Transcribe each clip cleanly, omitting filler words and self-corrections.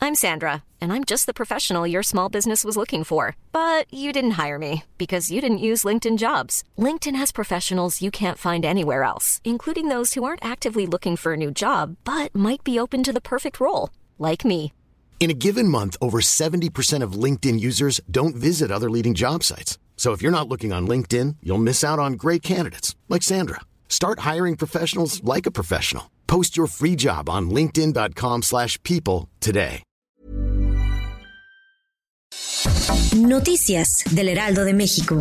I'm Sandra, and I'm just the professional your small business was looking for. But you didn't hire me because you didn't use LinkedIn Jobs. LinkedIn has professionals you can't find anywhere else, including those who aren't actively looking for a new job, but might be open to the perfect role, like me. In a given month, over 70% of LinkedIn users don't visit other leading job sites. So if you're not looking on LinkedIn, you'll miss out on great candidates like Sandra. Start hiring professionals like a professional. Post your free job on linkedin.com/people today. Noticias del Heraldo de México.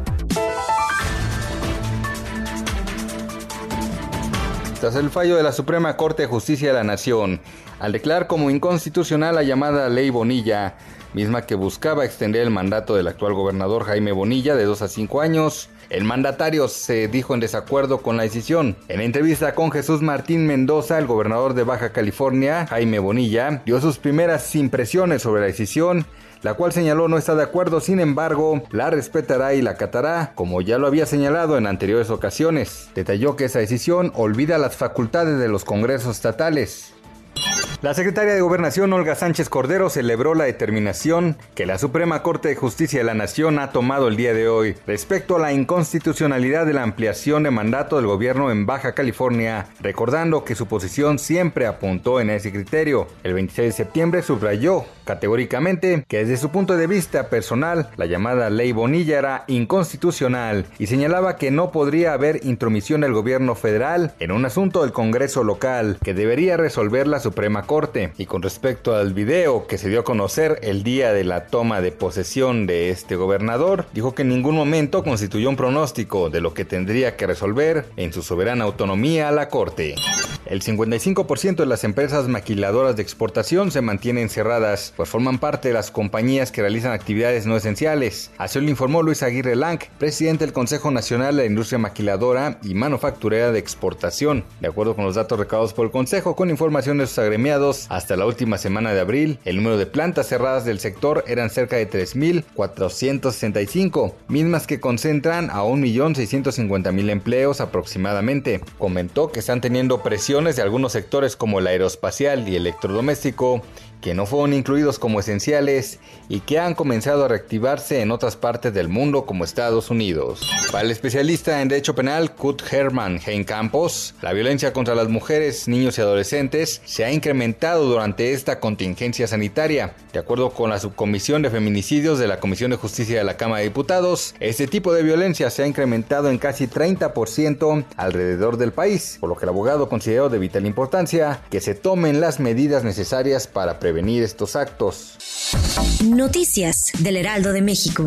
Tras el fallo de la Suprema Corte de Justicia de la Nación, al declarar como inconstitucional la llamada Ley Bonilla, misma que buscaba extender el mandato del actual gobernador Jaime Bonilla de 2 a 5 años, el mandatario se dijo en desacuerdo con la decisión. En la entrevista con Jesús Martín Mendoza, el gobernador de Baja California, Jaime Bonilla, dio sus primeras impresiones sobre la decisión, la cual señaló no está de acuerdo, sin embargo, la respetará y la acatará, como ya lo había señalado en anteriores ocasiones. Detalló que esa decisión olvida las facultades de los congresos estatales. La secretaria de Gobernación, Olga Sánchez Cordero, celebró la determinación que la Suprema Corte de Justicia de la Nación ha tomado el día de hoy respecto a la inconstitucionalidad de la ampliación de mandato del gobierno en Baja California, recordando que su posición siempre apuntó en ese criterio. El 26 de septiembre subrayó categóricamente que desde su punto de vista personal, la llamada Ley Bonilla era inconstitucional y señalaba que no podría haber intromisión del gobierno federal en un asunto del Congreso local que debería resolver la Suprema Corte. Y con respecto al video que se dio a conocer el día de la toma de posesión de este gobernador, dijo que en ningún momento constituyó un pronóstico de lo que tendría que resolver en su soberana autonomía la Corte. El 55% de las empresas maquiladoras de exportación se mantienen cerradas, pues forman parte de las compañías que realizan actividades no esenciales. Así lo informó Luis Aguirre Lang, presidente del Consejo Nacional de la Industria Maquiladora y Manufacturera de Exportación. De acuerdo con los datos recabados por el Consejo, con información de sus agremiados, hasta la última semana de abril, el número de plantas cerradas del sector eran cerca de 3.465, mismas que concentran a 1.650.000 empleos aproximadamente. Comentó que están teniendo presiones de algunos sectores como el aeroespacial y electrodoméstico, que no fueron incluidos como esenciales y que han comenzado a reactivarse en otras partes del mundo como Estados Unidos. Para el especialista en Derecho Penal Kurt Hermann Hein Campos, la violencia contra las mujeres, niños y adolescentes se ha incrementado durante esta contingencia sanitaria. De acuerdo con la Subcomisión de Feminicidios de la Comisión de Justicia de la Cámara de Diputados, este tipo de violencia se ha incrementado en casi 30% alrededor del país, por lo que el abogado consideró de vital importancia que se tomen las medidas necesarias para prevenir estos actos. Noticias del Heraldo de México.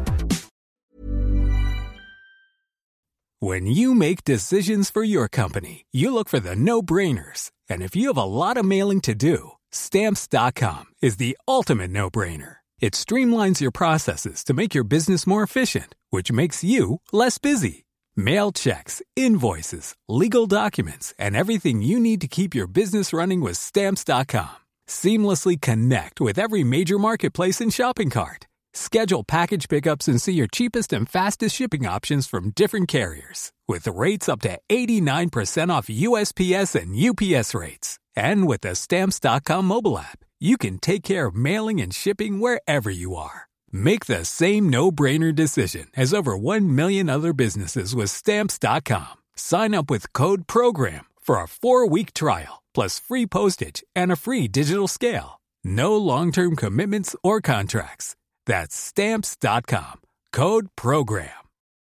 When you make decisions for your company, you look for the no-brainers. And if you have a lot of mailing to do, Stamps.com is the ultimate no-brainer. It streamlines your processes to make your business more efficient, which makes you less busy. Mail checks, invoices, legal documents, and everything you need to keep your business running with Stamps.com. Seamlessly connect with every major marketplace and shopping cart. Schedule package pickups and see your cheapest and fastest shipping options from different carriers, with rates up to 89% off USPS and UPS rates. And with the Stamps.com mobile app, you can take care of mailing and shipping wherever you are. Make the same no-brainer decision as over 1 million other businesses with Stamps.com. Sign up with code PROGRAM for a 4-week trial, plus free postage and a free digital scale. No long-term commitments or contracts. That's Stamps.com. Code PROGRAM.